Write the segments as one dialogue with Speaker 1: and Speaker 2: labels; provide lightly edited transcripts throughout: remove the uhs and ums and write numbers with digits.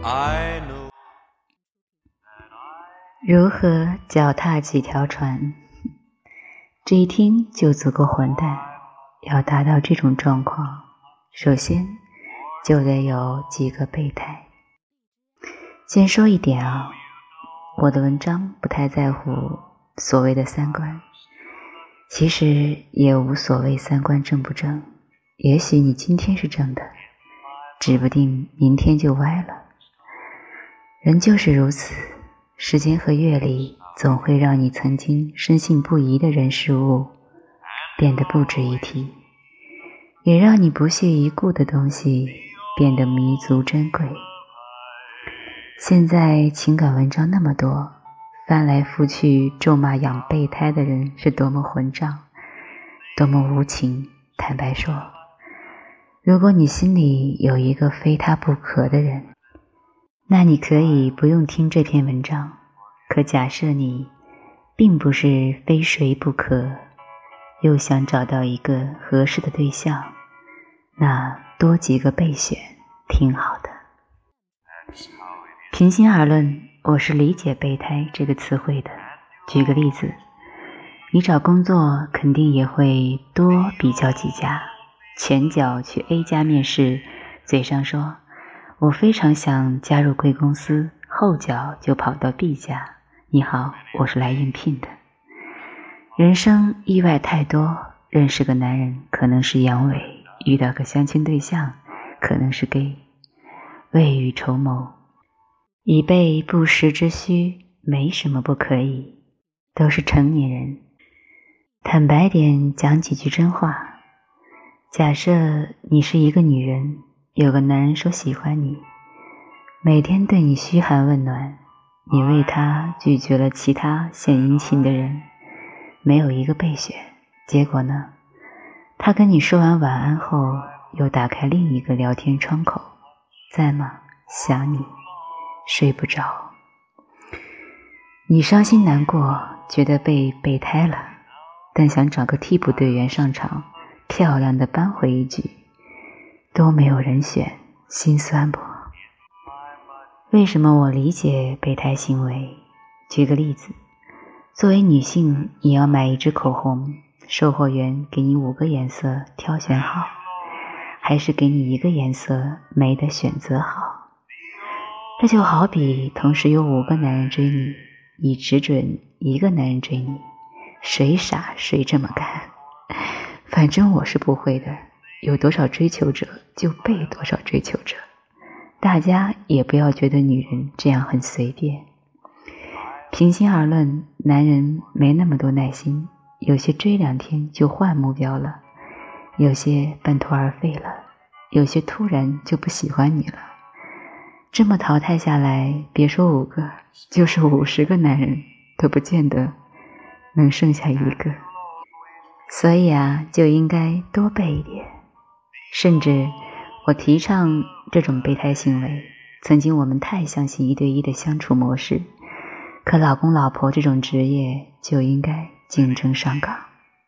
Speaker 1: 如何脚踏几条船？这一听就足够混蛋。要达到这种状况，首先就得有几个备胎。先说一点啊，我的文章不太在乎所谓的三观，其实也无所谓三观正不正，也许你今天是正的，指不定明天就歪了。人就是如此，时间和阅历总会让你曾经深信不疑的人事物变得不值一提，也让你不屑一顾的东西变得弥足珍贵。现在情感文章那么多，翻来覆去咒骂养备胎的人是多么混账，多么无情。坦白说，如果你心里有一个非他不可的人，那你可以不用听这篇文章。可假设你并不是非谁不可，又想找到一个合适的对象，那多几个备选挺好的。平心而论，我是理解备胎这个词汇的。举个例子，你找工作肯定也会多比较几家，前脚去 A 家面试，嘴上说我非常想加入贵公司，后脚就跑到 B 家，你好，我是来应聘的。人生意外太多，认识个男人可能是阳痿，遇到个相亲对象可能是 gay。 未雨绸缪，以备不时之需，没什么不可以，都是成年人。坦白点讲几句真话，假设你是一个女人，有个男人说喜欢你，每天对你嘘寒问暖，你为他拒绝了其他献殷勤的人，没有一个备选，结果呢，他跟你说完晚安后，又打开另一个聊天窗口，在吗？想你，睡不着。你伤心难过，觉得被备胎了，但想找个替补队员上场，漂亮的扳回一局，都没有人选，心酸不？为什么我理解备胎行为？举个例子，作为女性，你要买一支口红，售货员给你5个颜色挑选好，还是给你1个颜色没得选择好？这就好比同时有5个男人追你，你只准1个男人追你，谁傻谁这么干。反正我是不会的，有多少追求者就备多少追求者，大家也不要觉得女人这样很随便。平心而论，男人没那么多耐心，有些追2天就换目标了，有些半途而废了，有些突然就不喜欢你了。这么淘汰下来，别说5个，就是50个男人都不见得能剩下1个。所以啊，就应该多备一点。甚至我提倡这种备胎行为，曾经我们太相信1对1的相处模式，可老公老婆这种职业就应该竞争上岗。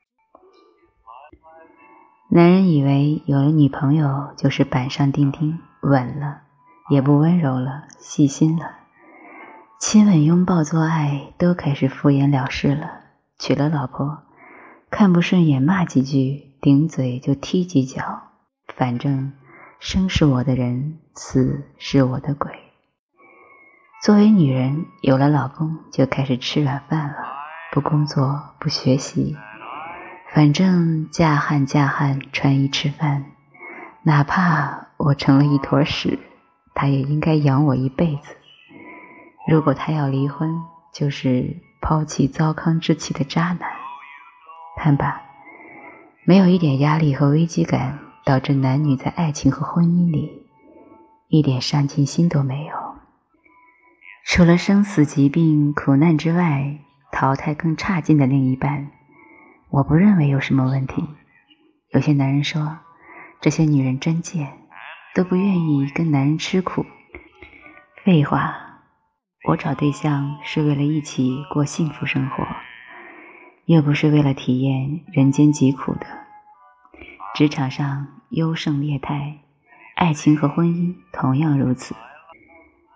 Speaker 1: 男人以为有了女朋友就是板上钉钉，稳了，也不温柔了，细心了，亲吻拥抱做爱都开始敷衍了事了。娶了老婆，看不顺眼骂几句，顶嘴就踢几脚，反正生是我的人，死是我的鬼。作为女人，有了老公就开始吃软饭了，不工作不学习，反正嫁汉穿衣吃饭，哪怕我成了一坨屎，他也应该养我一辈子。如果他要离婚，就是抛弃糟糠之妻的渣男。看吧，没有一点压力和危机感，导致男女在爱情和婚姻里一点上进心都没有。除了生死疾病苦难之外，淘汰更差劲的另一半，我不认为有什么问题。有些男人说，这些女人真贱，都不愿意跟男人吃苦。废话，我找对象是为了一起过幸福生活，又不是为了体验人间疾苦的。职场上优胜劣汰，爱情和婚姻同样如此。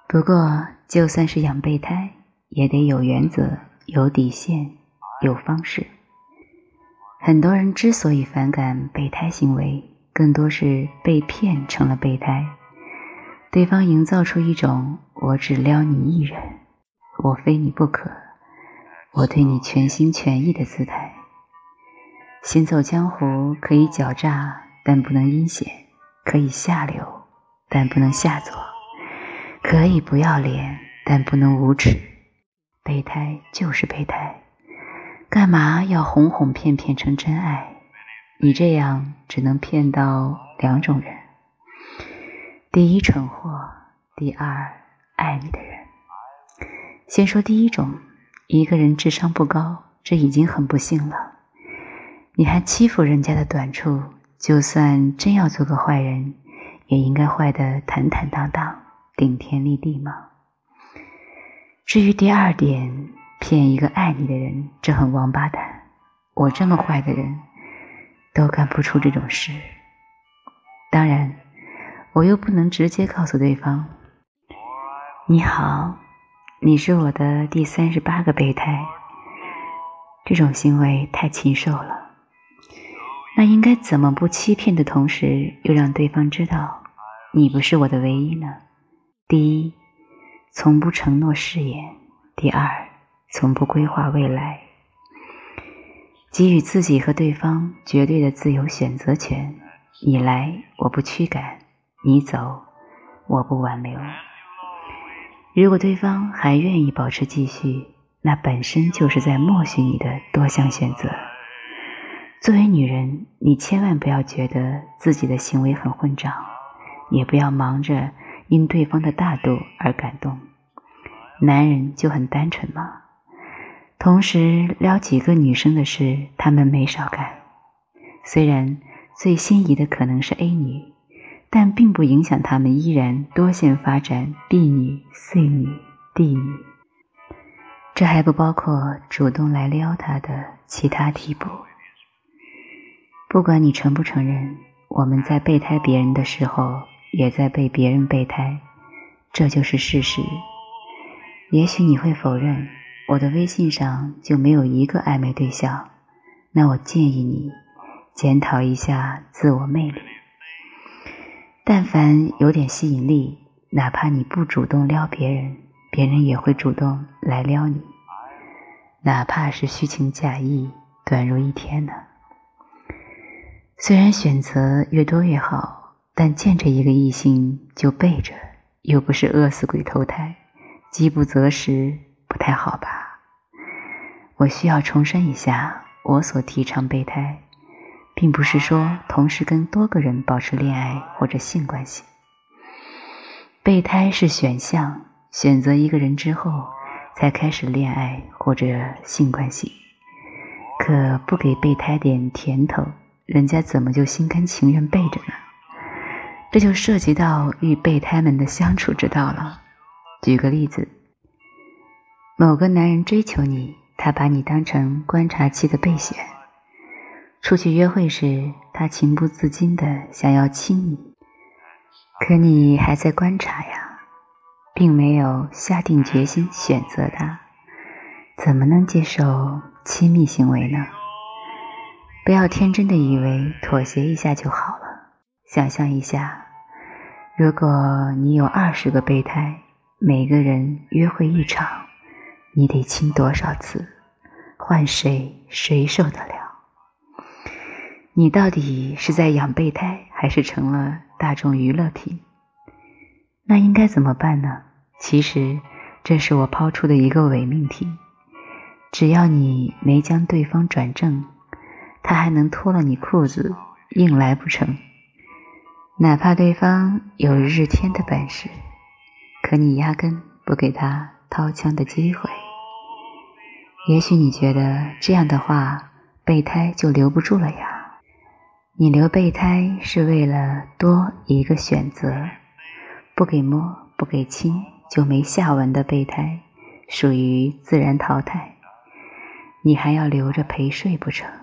Speaker 1: 不过就算是养备胎，也得有原则、有底线、有方式。很多人之所以反感备胎行为，更多是被骗成了备胎，对方营造出一种我只撩你一人，我非你不可，我对你全心全意的姿态。行走江湖可以狡诈，但不能阴险；可以下流，但不能下作；可以不要脸，但不能无耻。备胎就是备胎，干嘛要哄哄骗骗成真爱？你这样只能骗到两种人：第一，蠢货；第二，爱你的人。先说第一种，一个人智商不高，这已经很不幸了。你还欺负人家的短处，就算真要做个坏人，也应该坏得坦坦荡荡，顶天立地嘛。至于第二点，骗一个爱你的人，这很王八蛋。我这么坏的人都干不出这种事。当然，我又不能直接告诉对方，你好，你是我的第38个备胎。这种行为太禽兽了。那应该怎么不欺骗的同时，又让对方知道你不是我的唯一呢？第一，从不承诺誓言；第二，从不规划未来。给予自己和对方绝对的自由选择权，你来我不驱赶，你走我不挽留。如果对方还愿意保持继续，那本身就是在默许你的多项选择。作为女人，你千万不要觉得自己的行为很混账，也不要忙着因对方的大度而感动。男人就很单纯嘛，同时撩几个女生的事他们没少干。虽然最心仪的可能是 A 女，但并不影响他们依然多线发展 B 女、C 女、D 女。这还不包括主动来撩她的其他替补。不管你承不承认，我们在备胎别人的时候，也在被别人备胎，这就是事实。也许你会否认，我的微信上就没有一个暧昧对象，那我建议你检讨一下自我魅力。但凡有点吸引力，哪怕你不主动撩别人，别人也会主动来撩你，哪怕是虚情假意，短如一天呢。虽然选择越多越好，但见着一个异性就背着，又不是饿死鬼投胎，饥不择食，不太好吧？我需要重申一下，我所提倡备胎，并不是说同时跟多个人保持恋爱或者性关系。备胎是选项，选择一个人之后，才开始恋爱或者性关系。可不给备胎点甜头，人家怎么就心甘情愿背着呢？这就涉及到与备胎们的相处之道了。举个例子，某个男人追求你，他把你当成观察期的备选。出去约会时，他情不自禁地想要亲你，可你还在观察呀，并没有下定决心选择他，怎么能接受亲密行为呢？不要天真的以为妥协一下就好了。想象一下，如果你有20个备胎，每个人约会一场，你得亲多少次？换谁受得了？你到底是在养备胎，还是成了大众娱乐品？那应该怎么办呢？其实这是我抛出的一个伪命题。只要你没将对方转正，他还能脱了你裤子硬来不成？哪怕对方有日天的本事，可你压根不给他掏枪的机会。也许你觉得这样的话，备胎就留不住了呀。你留备胎是为了多一个选择，不给摸不给亲就没下文的备胎，属于自然淘汰。你还要留着陪睡不成？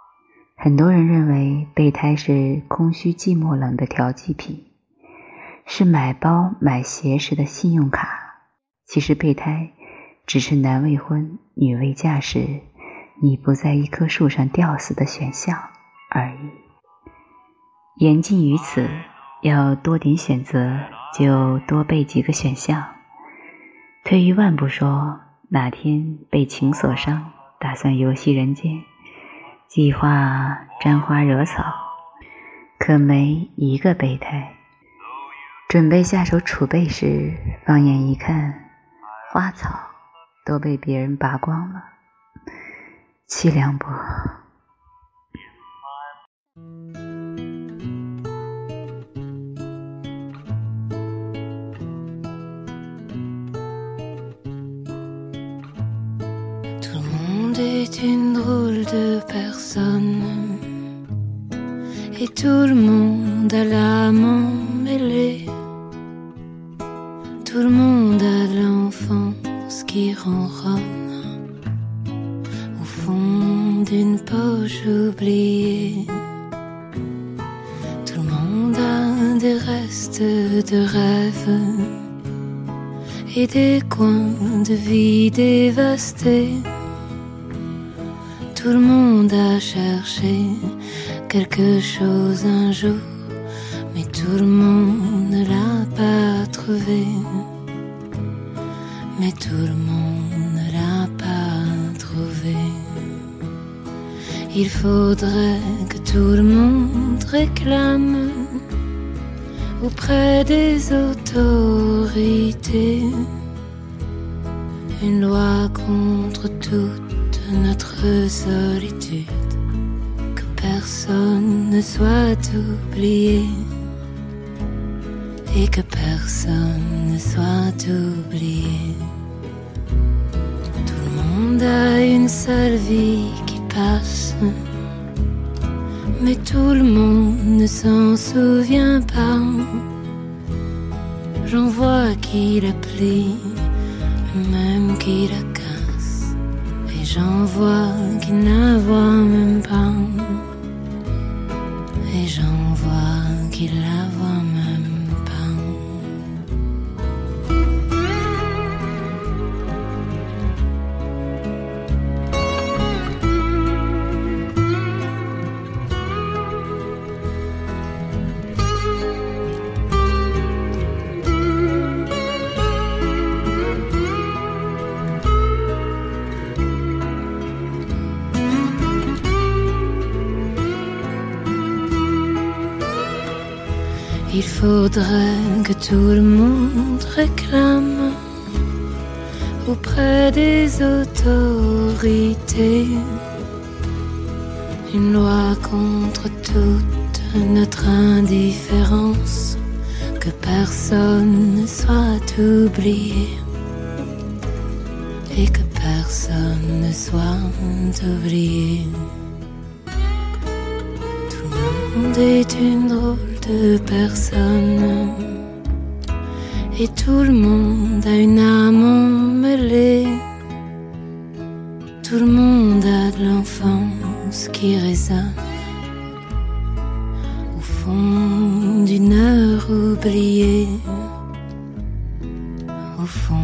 Speaker 1: 很多人认为备胎是空虚寂寞冷的调剂品， 是买包买鞋时的信用卡，其实备胎只是男未婚女未嫁时你不在一棵树上吊死的选项而已。言尽于此，要多点选择就多备几个选项。退一万步说，哪天被情所伤，打算游戏人间，计划沾花惹草，可没一个备胎。准备下手储备时，放眼一看，花草都被别人拔光了，凄凉不？
Speaker 2: est une drôle de personne et tout le monde a l'âme emmêlée. Tout le monde a l'enfance qui ronronne au fond d'une poche oubliée. Tout le monde a des restes de rêves et des coins de vie dévastés. Tout le monde a cherché quelque chose un jour, mais tout le monde ne l'a pas trouvé. Mais tout le monde ne l'a pas trouvé. Il faudrait que tout le monde réclame auprès des autorités une loi contre toute notre solitude, que personne ne soit oublié et que personne ne soit oublié. Tout le monde a une seule vie qui passe, mais tout le monde ne s'en souvient pas. J'en vois qui la plie, même qui la casse, et j'en vois qui ne la voit même pas, et j'en vois qui la voit même pas. Il faudrait que tout le monde réclame auprès des autorités une loi contre toute notre indifférence, que personne ne soit oublié et que personne ne soit oublié. Tout le monde est une drôle de personne et tout le monde a une âme emmêlée. Tout le monde a de l'enfance qui résonne au fond d'une heure oubliée, au fond